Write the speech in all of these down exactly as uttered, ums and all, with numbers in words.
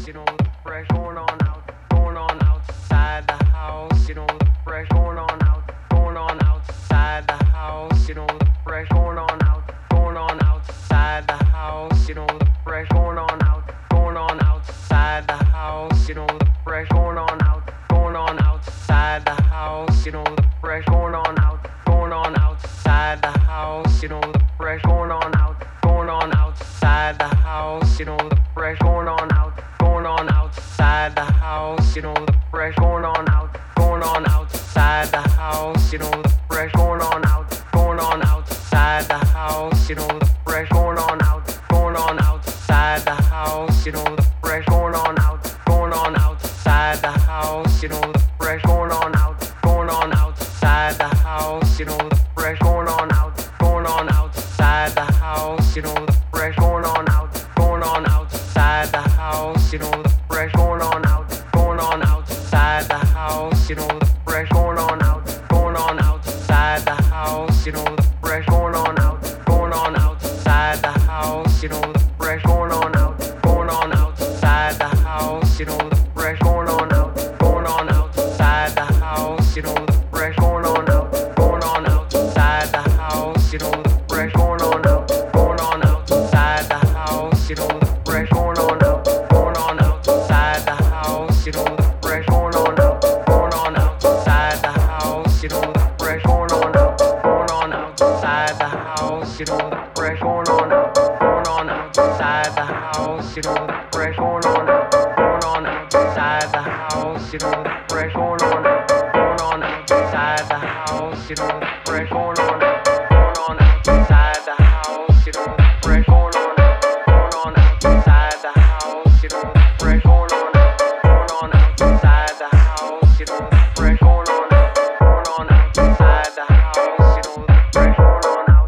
you know, the fresh going on out, going on outside the house, you know, the fresh going on out, going on outside the house, you know, the fresh going on out, going on outside the house, you know, the fresh going on out, going on outside the house, you know, the fresh going on out, going on outside the house, you know, the fresh going on out, going on outside the house, you know, the fresh going on out, going on outside the house, you know, the fresh going on out, going on outside the house, you know, the fresh going on out, going on outside the house, you know, the fresh going on out, going on outside the house, you know, the fresh going on out, going on outside the house, you know, the fresh going on out, going on outside the house, you know, the fresh going on out, going on outside the house, you know, the fresh going on out, going on outside the house, you know, the fresh going on out, going on outside the house, you know, the fresh going on out, going on outside the house, you know, the fresh going on out, going on outside the house, you know, the fresh going on out, going on outside the house, you know, the fresh going on out, going on outside the house, you know, the fresh going on out, going on outside the house, you know, the fresh going on out, going on outside the house, you know, the fresh going on out, going on outside the house, you know, the fresh going on out, going on outside the house, you know, the fresh going on out, going on outside the house, you know, the fresh going on out, going on outside the house, you know, the fresh going on out, going on outside the house, you know, the fresh going on out, going on outside the house, you know, the fresh going on out, going on outside the house, you know, the fresh going on out, going on outside the house, you know, the fresh going on out, going on outside the house, you know, the fresh going on out, going on outside the house, you know, the fresh going on out, going on outside the house, you know, the fresh going on out.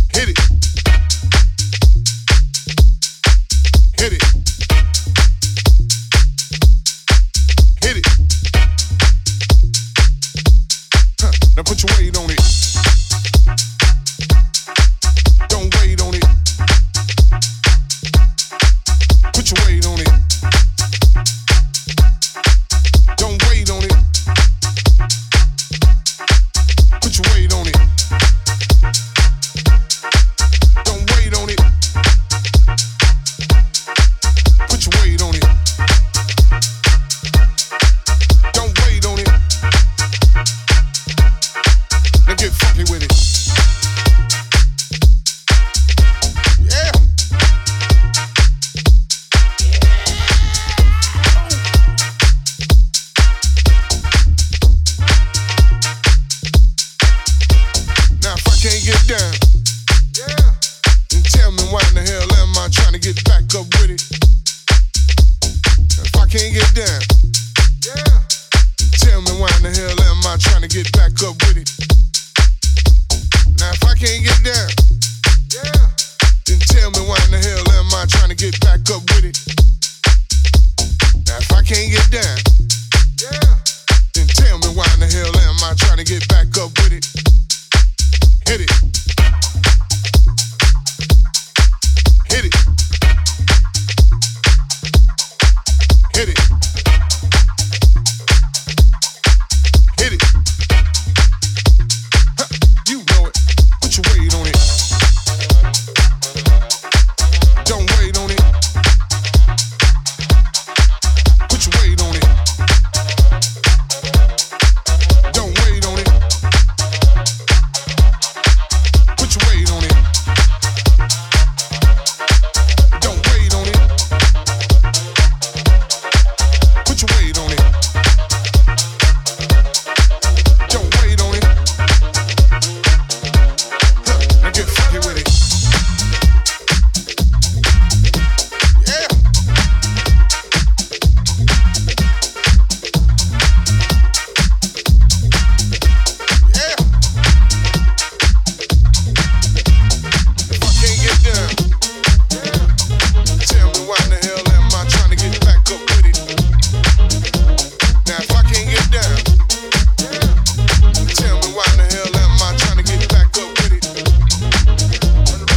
Hit it. Hit it. Hit it. Huh. Now put your weight on it. Don't wait on it. Put your weight on it. Don't wait on it. Put your weight on it. Don't wait on it. Put your weight on it. Don't wait on it. Now get funky with it. Yeah. Now if I can't get down, yeah, then tell me why in the hell am I trying to get back up with it? If I can't get down, yeah, then tell me why in the hell am I trying to get back up with it? Now if I can't get down, yeah, then tell me why in the hell am I trying to get back up with it? Now if I can't get down, yeah, then tell me why in the hell am I trying to get back up with it? Hit it. Hit it. Hit it. Hit it. Huh, you know it. Put your weight on it. Don't wait on it. Put your weight on it. Don't wait on it. Put your weight on it. Don't wait on it. Put your weight on it. Don't wait on it. Huh, now get funky with it. Yeah. Yeah. If I can't get down, yeah, tell me why in the hell am I trying to get back up with it? Now if I can't get down, yeah, tell me why in the hell am I trying to get back up with it?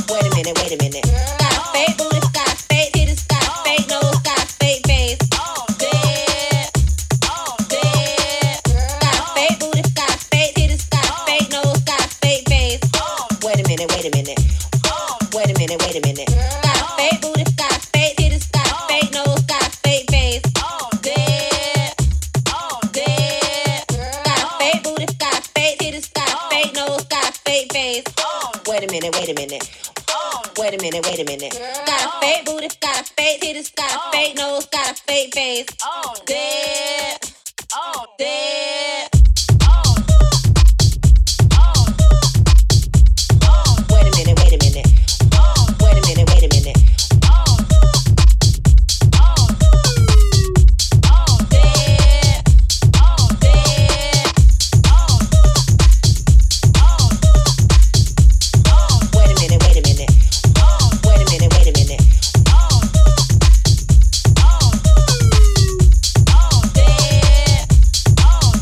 Wait a minute, wait a minute. Got a fake booty, got a fake titties, got a fake nose, got a fake face. Dead, dead. Got a fake booty, got a fake titties, got a fake nose, got a fake face. Wait a minute, wait a minute. Wait a minute, wait a minute. Got a fake booty, got a fake titties, got a fake nose, got a fake face. Dead, dead. Got a fake booty, got a fake titties, got a fake nose, got a fake face. Wait a minute, wait a minute. Wait a minute, wait a minute. Got a fake booty, got a fake titties, got a fake nose, got a fake face. Dead, dead. Wait a minute, wait a minute. Wait a minute, wait a minute. Dead, dead. Wait a minute, wait a minute. Wait a minute, wait a minute. Dead,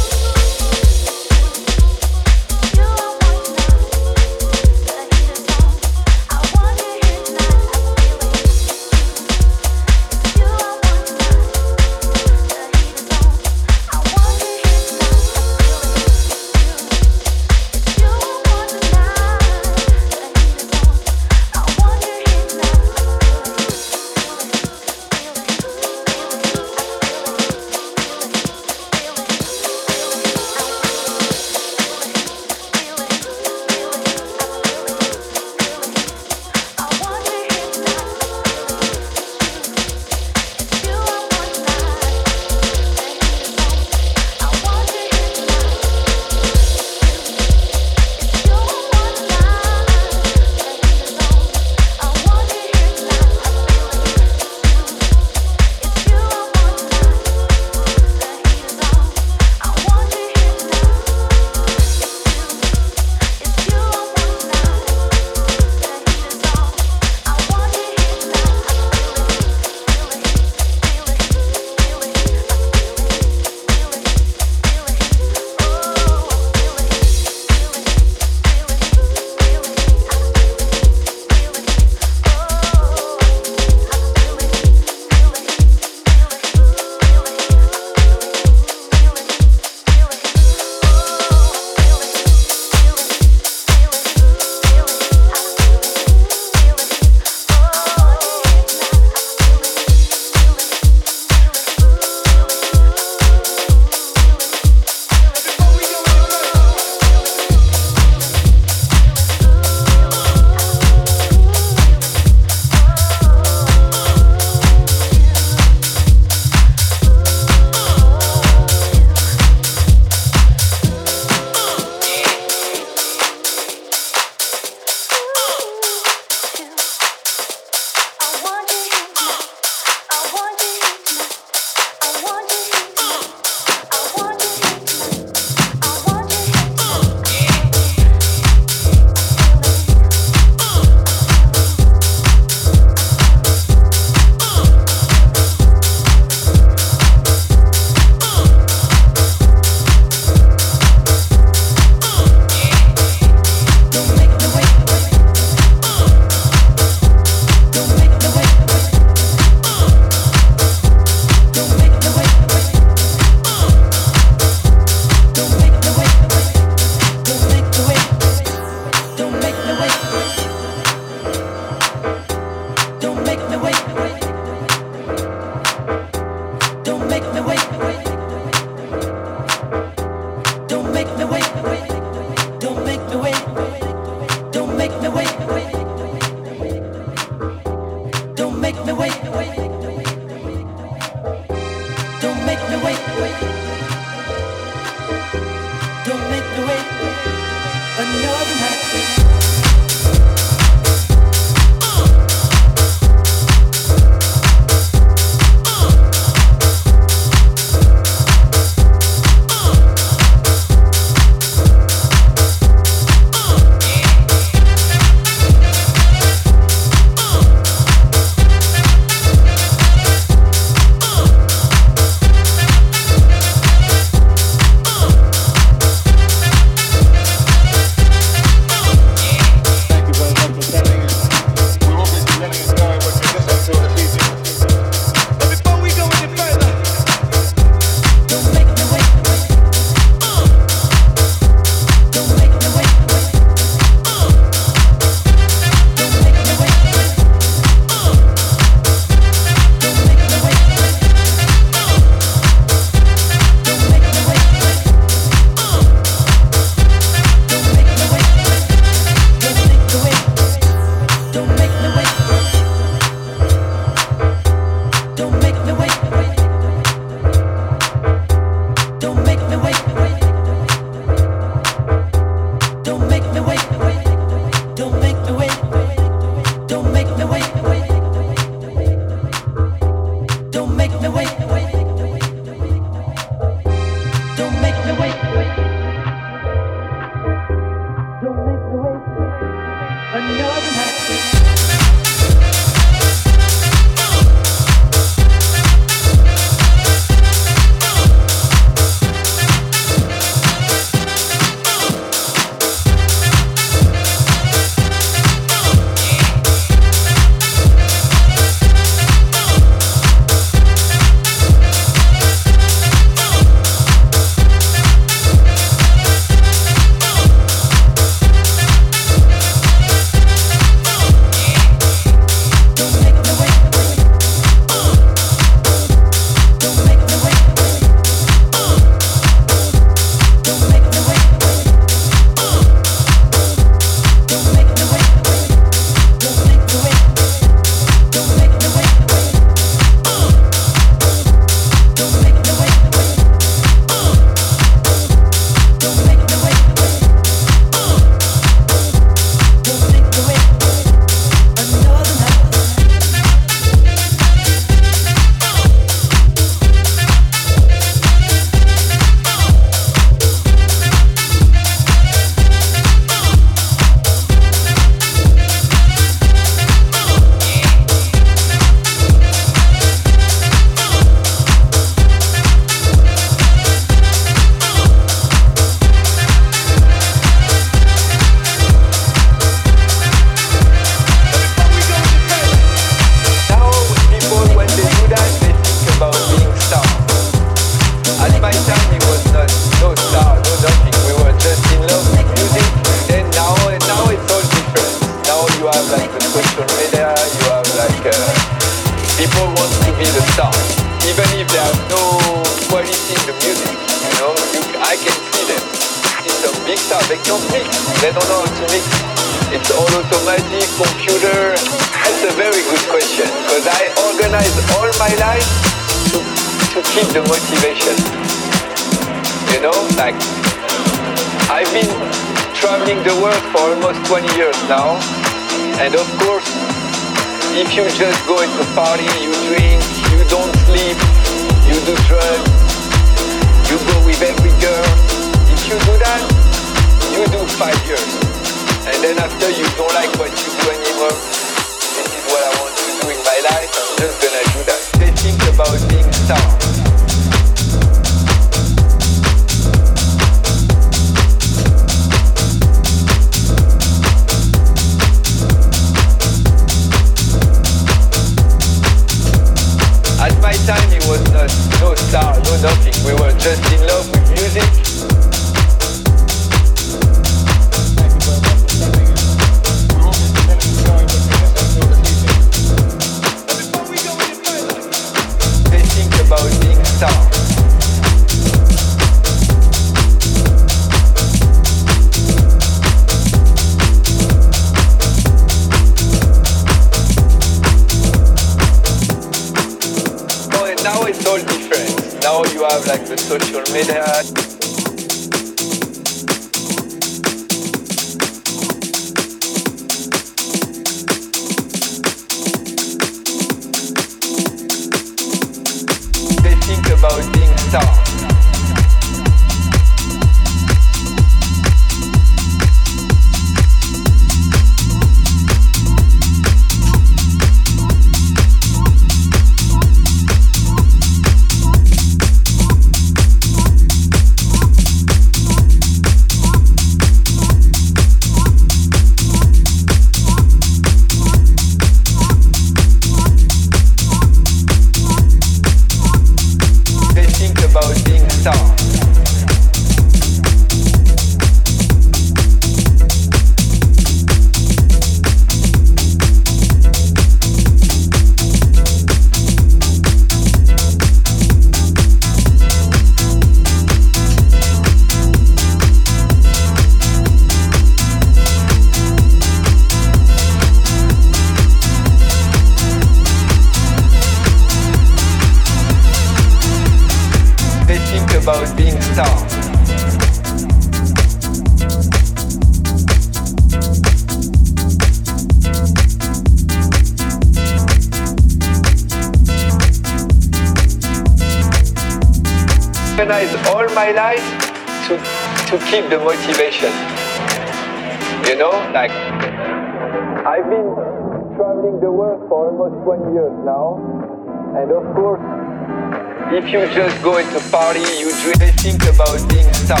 organized all my life to to keep the motivation. You know, like I've been traveling the world for almost twenty years now, and of course, if you just go into party, you really think about being star.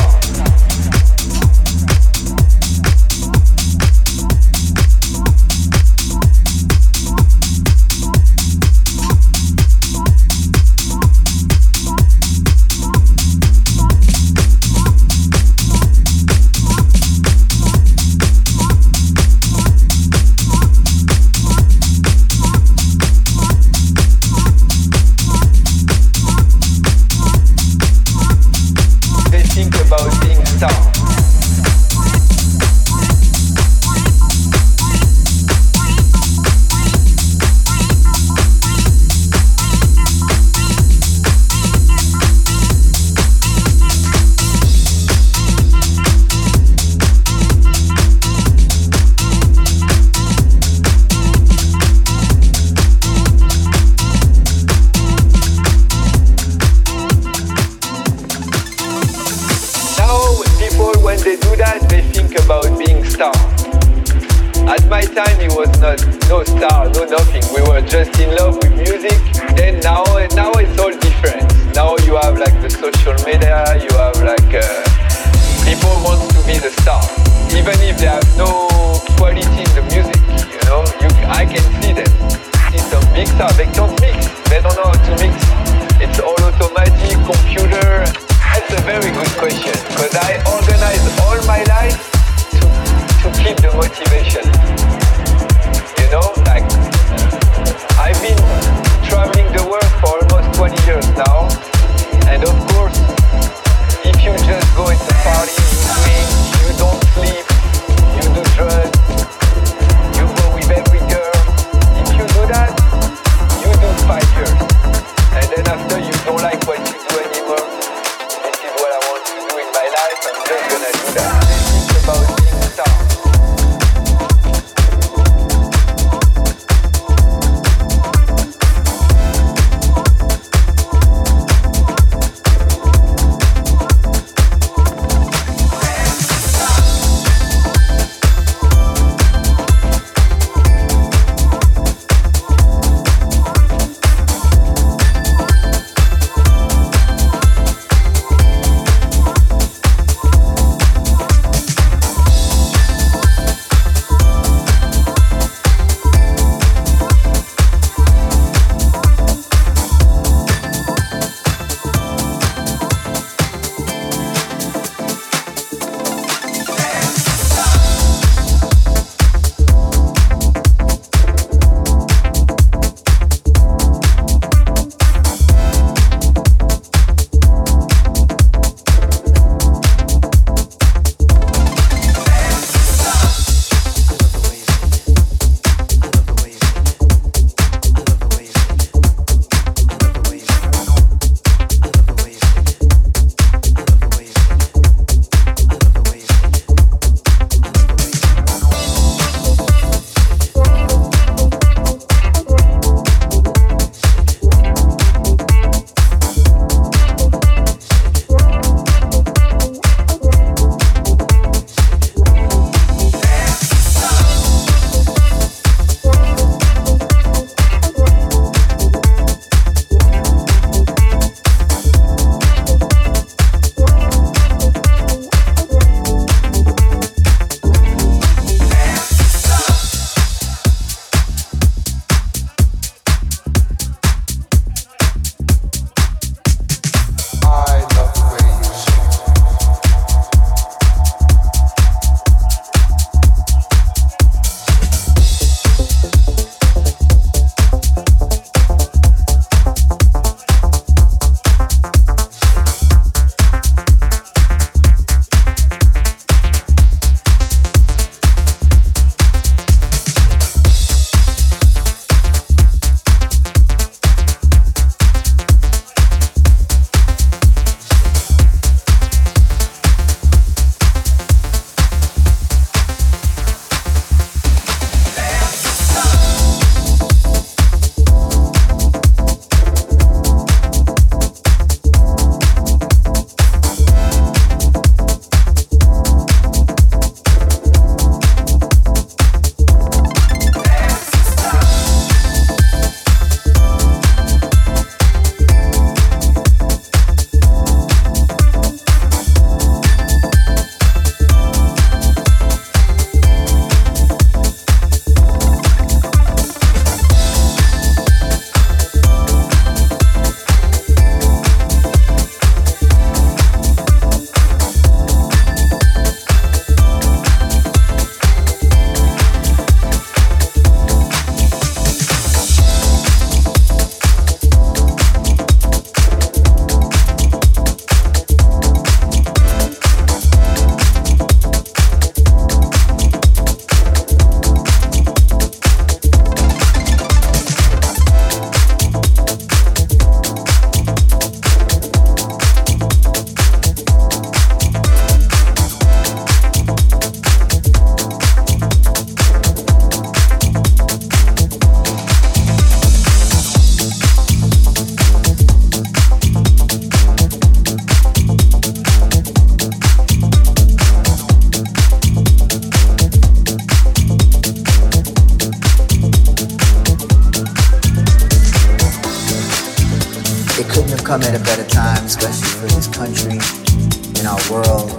come at a better time, especially for this country and our world.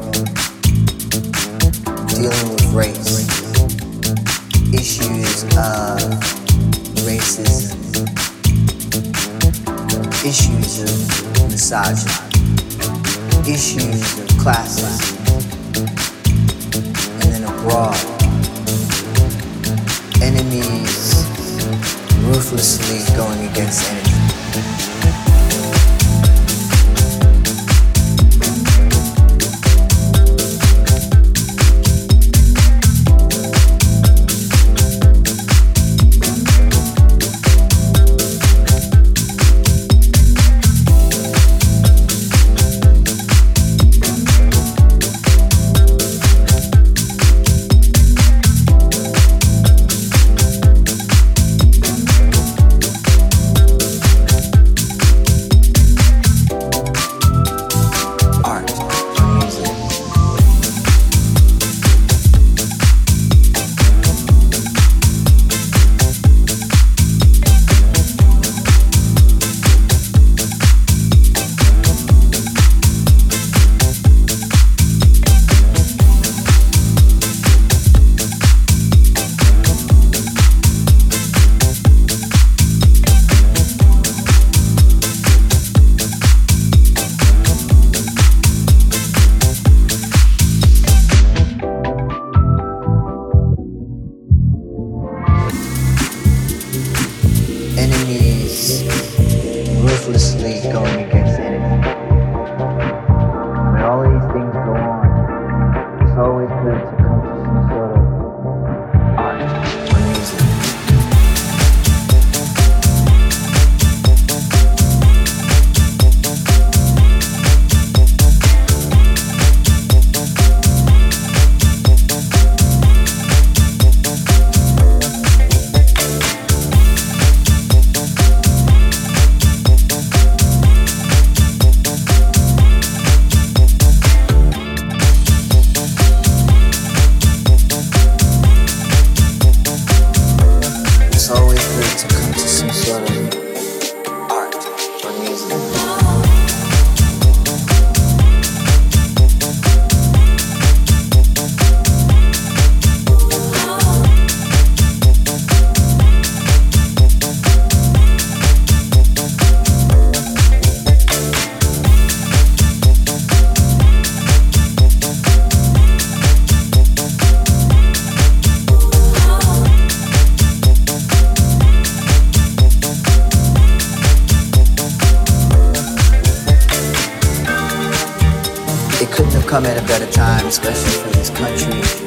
Dealing with race, issues of racism, issues of misogyny, issues of classism, and then abroad, enemies ruthlessly going against enemies. Come at a better time, especially for this country